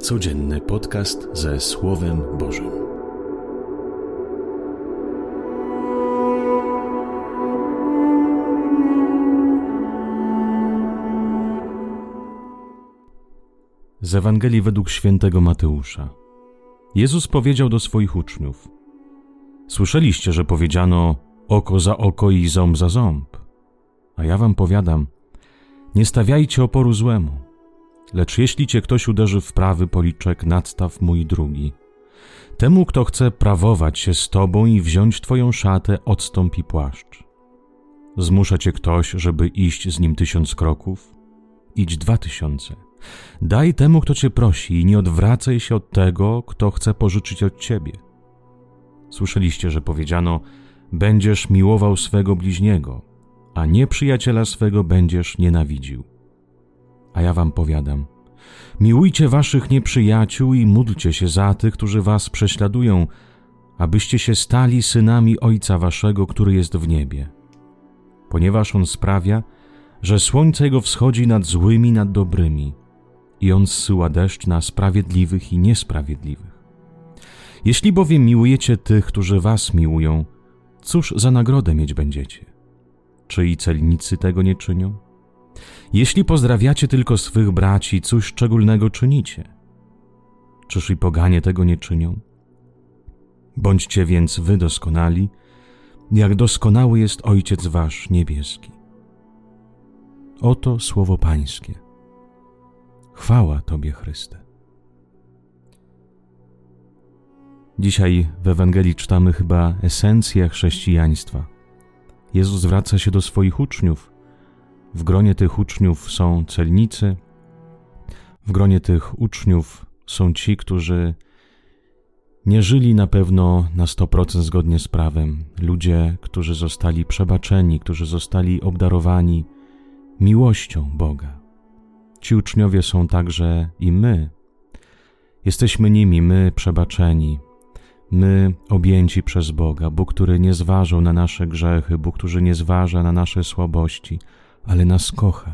Codzienny podcast ze Słowem Bożym. Z Ewangelii według świętego Mateusza. Jezus powiedział do swoich uczniów: Słyszeliście, że powiedziano oko za oko i ząb za ząb. A ja wam powiadam, nie stawiajcie oporu złemu. Lecz jeśli cię ktoś uderzy w prawy policzek, nadstaw mu i drugi. Temu, kto chce prawować się z tobą i wziąć twoją szatę, odstąp i płaszcz. Zmusza cię ktoś, żeby iść z nim 1000 kroków? Idź 2000. Daj temu, kto cię prosi, i nie odwracaj się od tego, kto chce pożyczyć od ciebie. Słyszeliście, że powiedziano: będziesz miłował swego bliźniego, a nieprzyjaciela swego będziesz nienawidził. A ja wam powiadam, miłujcie waszych nieprzyjaciół i módlcie się za tych, którzy was prześladują, abyście się stali synami Ojca waszego, który jest w niebie. Ponieważ On sprawia, że słońce Jego wschodzi nad złymi i nad dobrymi, i On zsyła deszcz na sprawiedliwych i niesprawiedliwych. Jeśli bowiem miłujecie tych, którzy was miłują, cóż za nagrodę mieć będziecie? Czy i celnicy tego nie czynią? Jeśli pozdrawiacie tylko swych braci, cóż szczególnego czynicie? Czyż i poganie tego nie czynią? Bądźcie więc wy doskonali, jak doskonały jest Ojciec wasz niebieski. Oto słowo Pańskie. Chwała Tobie, Chryste. Dzisiaj w Ewangelii czytamy chyba esencję chrześcijaństwa. Jezus zwraca się do swoich uczniów. W gronie tych uczniów są celnicy, w gronie tych uczniów są ci, którzy nie żyli na pewno na 100% zgodnie z prawem. Ludzie, którzy zostali przebaczeni, którzy zostali obdarowani miłością Boga. Ci uczniowie są także i my. Jesteśmy nimi, my przebaczeni, my objęci przez Boga. Bóg, który nie zważał na nasze grzechy, Bóg, który nie zważa na nasze słabości, ale nas kocha.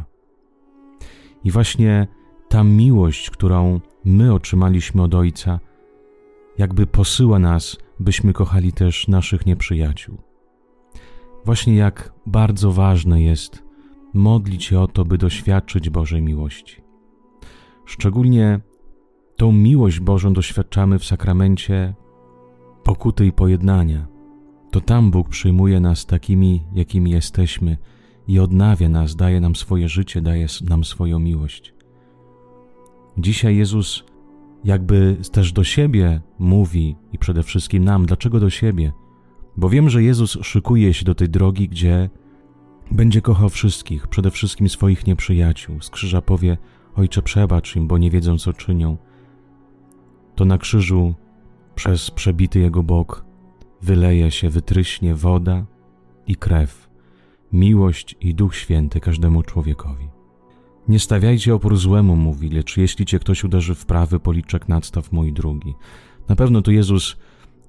I właśnie ta miłość, którą my otrzymaliśmy od Ojca, jakby posyła nas, byśmy kochali też naszych nieprzyjaciół. Właśnie jak bardzo ważne jest modlić się o to, by doświadczyć Bożej miłości. Szczególnie tą miłość Bożą doświadczamy w sakramencie pokuty i pojednania. To tam Bóg przyjmuje nas takimi, jakimi jesteśmy, i odnawia nas, daje nam swoje życie, daje nam swoją miłość. Dzisiaj Jezus jakby też do siebie mówi i przede wszystkim nam. Dlaczego do siebie? Bo wiem, że Jezus szykuje się do tej drogi, gdzie będzie kochał wszystkich, przede wszystkim swoich nieprzyjaciół. Z krzyża powie: Ojcze, przebacz im, bo nie wiedzą, co czynią. To na krzyżu przez przebity Jego bok wyleje się, wytryśnie woda i krew, miłość i Duch Święty każdemu człowiekowi. Nie stawiajcie opór złemu, mówi, lecz jeśli cię ktoś uderzy w prawy policzek, nadstaw mu i drugi. Na pewno tu Jezus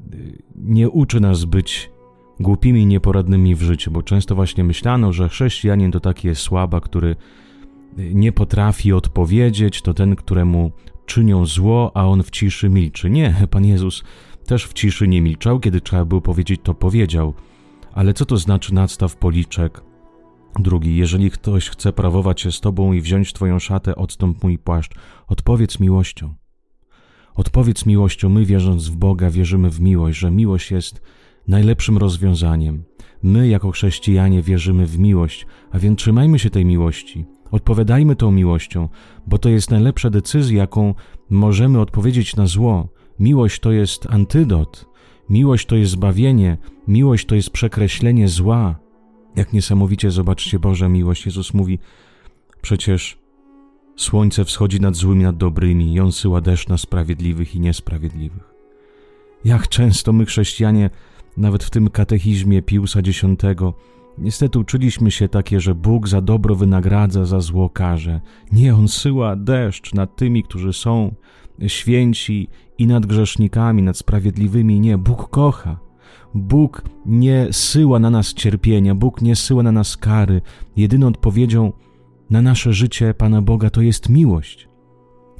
nie uczy nas być głupimi i nieporadnymi w życiu, bo często właśnie myślano, że chrześcijanin to taki jest słaba, który nie potrafi odpowiedzieć, to ten, któremu czynią zło, a on w ciszy milczy. Nie, Pan Jezus też w ciszy nie milczał, kiedy trzeba było powiedzieć, to powiedział. Ale co to znaczy nadstaw policzek drugi? Jeżeli ktoś chce prawować się z tobą i wziąć twoją szatę, odstąp mu i płaszcz. Odpowiedz miłością. Odpowiedz miłością. My, wierząc w Boga, wierzymy w miłość, że miłość jest najlepszym rozwiązaniem. My, jako chrześcijanie, wierzymy w miłość, a więc trzymajmy się tej miłości. Odpowiadajmy tą miłością, bo to jest najlepsza decyzja, jaką możemy odpowiedzieć na zło. Miłość to jest antydot. Miłość to jest zbawienie, miłość to jest przekreślenie zła. Jak niesamowicie, zobaczcie, Boża miłość. Jezus mówi, przecież słońce wschodzi nad złymi, nad dobrymi i On syła deszcz na sprawiedliwych i niesprawiedliwych. Jak często my, chrześcijanie, nawet w tym katechizmie Piusa X, niestety uczyliśmy się takie, że Bóg za dobro wynagradza, za zło karze. Nie, On syła deszcz nad tymi, którzy są święci, i nad grzesznikami, nad sprawiedliwymi. Nie, Bóg kocha. Bóg nie syła na nas cierpienia, Bóg nie syła na nas kary. Jedyną odpowiedzią na nasze życie Pana Boga to jest miłość.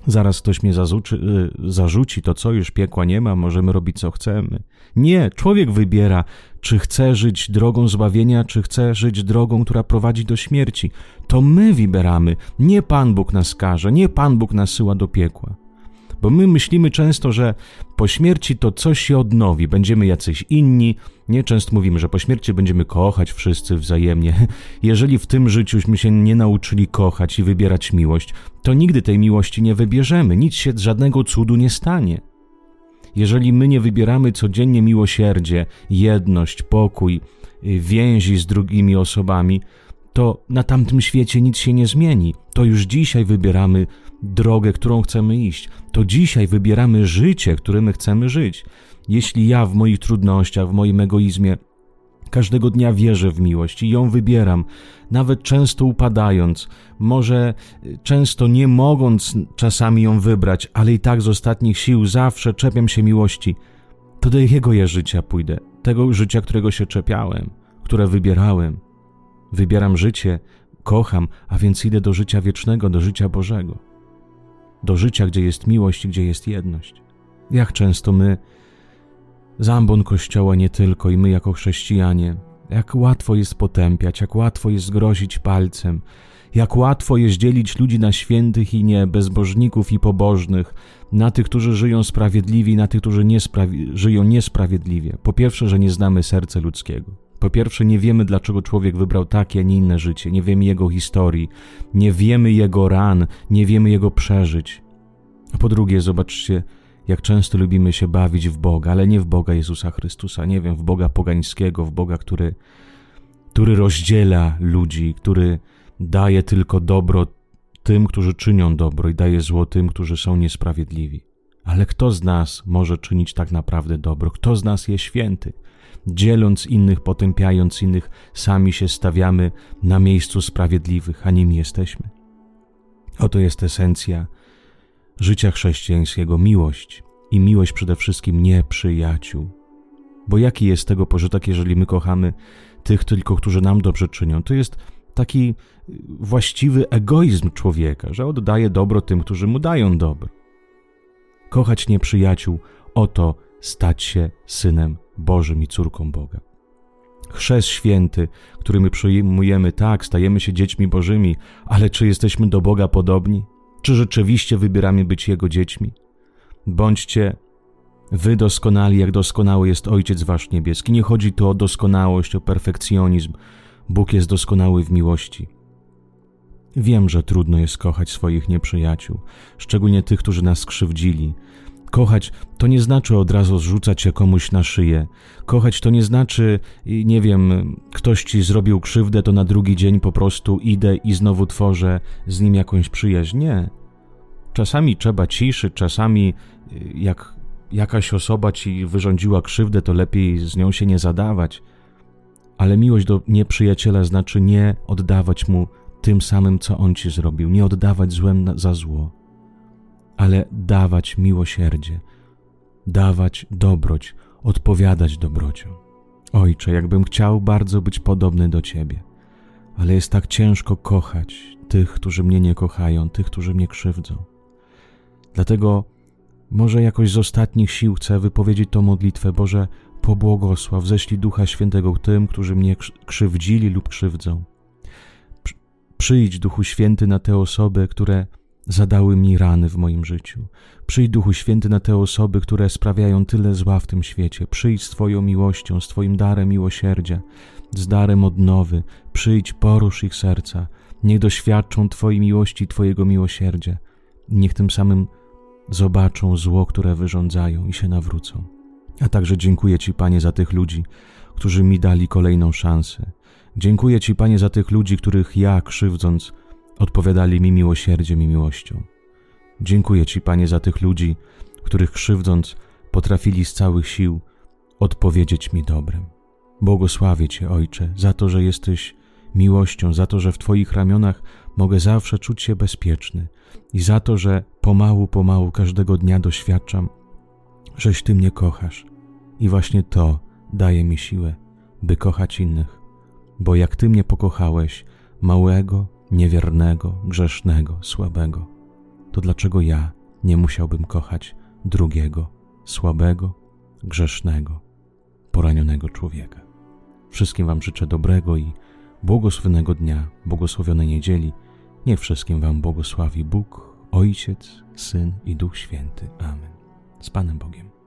Zaraz ktoś mnie zarzuci, to co, już piekła nie ma, możemy robić co chcemy. Nie, człowiek wybiera, czy chce żyć drogą zbawienia, czy chce żyć drogą, która prowadzi do śmierci. To my wybieramy, nie Pan Bóg nas karze, nie Pan Bóg nas syła do piekła. Bo my myślimy często, że po śmierci to coś się odnowi, będziemy jacyś inni. Nie, często mówimy, że po śmierci będziemy kochać wszyscy wzajemnie. Jeżeli w tym życiuśmy się nie nauczyli kochać i wybierać miłość, to nigdy tej miłości nie wybierzemy, nic się żadnego cudu nie stanie. Jeżeli my nie wybieramy codziennie miłosierdzie, jedność, pokój, więzi z drugimi osobami, to na tamtym świecie nic się nie zmieni. To już dzisiaj wybieramy drogę, którą chcemy iść. To dzisiaj wybieramy życie, którym chcemy żyć. Jeśli ja w moich trudnościach, w moim egoizmie każdego dnia wierzę w miłość i ją wybieram, nawet często upadając, może często nie mogąc czasami ją wybrać, ale i tak z ostatnich sił zawsze czepiam się miłości, to do jakiego ja życia pójdę? Tego życia, którego się czepiałem, które wybierałem. Wybieram życie, kocham, a więc idę do życia wiecznego, do życia Bożego. Do życia, gdzie jest miłość i gdzie jest jedność. Jak często my, zambon Kościoła nie tylko i my jako chrześcijanie, jak łatwo jest potępiać, jak łatwo jest grozić palcem, jak łatwo jest dzielić ludzi na świętych i nie, bezbożników i pobożnych, na tych, którzy żyją sprawiedliwie i na tych, którzy żyją niesprawiedliwie. Po pierwsze, że nie znamy serca ludzkiego. Po pierwsze, nie wiemy, dlaczego człowiek wybrał takie, a nie inne życie. Nie wiemy jego historii, nie wiemy jego ran, nie wiemy jego przeżyć. A po drugie, zobaczcie, jak często lubimy się bawić w Boga, ale nie w Boga Jezusa Chrystusa, nie wiem, w Boga pogańskiego, w Boga, który rozdziela ludzi, który daje tylko dobro tym, którzy czynią dobro i daje zło tym, którzy są niesprawiedliwi. Ale kto z nas może czynić tak naprawdę dobro? Kto z nas jest święty? Dzieląc innych, potępiając innych, sami się stawiamy na miejscu sprawiedliwych, a nimi jesteśmy. Oto jest esencja życia chrześcijańskiego, miłość. I miłość przede wszystkim nieprzyjaciół. Bo jaki jest tego pożytek, jeżeli my kochamy tych tylko, którzy nam dobrze czynią? To jest taki właściwy egoizm człowieka, że oddaje dobro tym, którzy mu dają dobro. Kochać nieprzyjaciół, oto stać się Synem Bożym i córką Boga. Chrzest święty, który my przyjmujemy, tak, stajemy się dziećmi Bożymi, ale czy jesteśmy do Boga podobni? Czy rzeczywiście wybieramy być Jego dziećmi? Bądźcie wy doskonali, jak doskonały jest Ojciec wasz niebieski. Nie chodzi tu o doskonałość, o perfekcjonizm. Bóg jest doskonały w miłości. Wiem, że trudno jest kochać swoich nieprzyjaciół, szczególnie tych, którzy nas skrzywdzili. Kochać to nie znaczy od razu zrzucać się komuś na szyję. Kochać to nie znaczy, nie wiem, ktoś ci zrobił krzywdę, to na drugi dzień po prostu idę i znowu tworzę z nim jakąś przyjaźń. Nie. Czasami trzeba ciszy, czasami jak jakaś osoba ci wyrządziła krzywdę, to lepiej z nią się nie zadawać. Ale miłość do nieprzyjaciela znaczy nie oddawać mu tym samym, co on ci zrobił, nie oddawać złem za zło, ale dawać miłosierdzie, dawać dobroć, odpowiadać dobrocią. Ojcze, jakbym chciał bardzo być podobny do Ciebie, ale jest tak ciężko kochać tych, którzy mnie nie kochają, tych, którzy mnie krzywdzą. Dlatego może jakoś z ostatnich sił chcę wypowiedzieć tę modlitwę. Boże, pobłogosław, ześlij Ducha Świętego tym, którzy mnie krzywdzili lub krzywdzą. Przyjdź, Duchu Święty, na te osoby, które zadały mi rany w moim życiu. Przyjdź, Duchu Święty, na te osoby, które sprawiają tyle zła w tym świecie. Przyjdź z Twoją miłością, z Twoim darem miłosierdzia, z darem odnowy. Przyjdź, porusz ich serca. Niech doświadczą Twojej miłości, Twojego miłosierdzia. Niech tym samym zobaczą zło, które wyrządzają i się nawrócą. A także dziękuję Ci, Panie, za tych ludzi, którzy mi dali kolejną szansę. Dziękuję Ci, Panie, za tych ludzi, których ja, krzywdząc, odpowiadali mi miłosierdziem i miłością. Dziękuję Ci, Panie, za tych ludzi, których krzywdząc, potrafili z całych sił odpowiedzieć mi dobrem. Błogosławię Cię, Ojcze, za to, że jesteś miłością, za to, że w Twoich ramionach mogę zawsze czuć się bezpieczny i za to, że pomału każdego dnia doświadczam, żeś Ty mnie kochasz i właśnie to daje mi siłę, by kochać innych, bo jak Ty mnie pokochałeś, małego, niewiernego, grzesznego, słabego, to dlaczego ja nie musiałbym kochać drugiego, słabego, grzesznego, poranionego człowieka. Wszystkim wam życzę dobrego i błogosławionego dnia, błogosławionej niedzieli. Niech wszystkim wam błogosławi Bóg, Ojciec, Syn i Duch Święty. Amen. Z Panem Bogiem.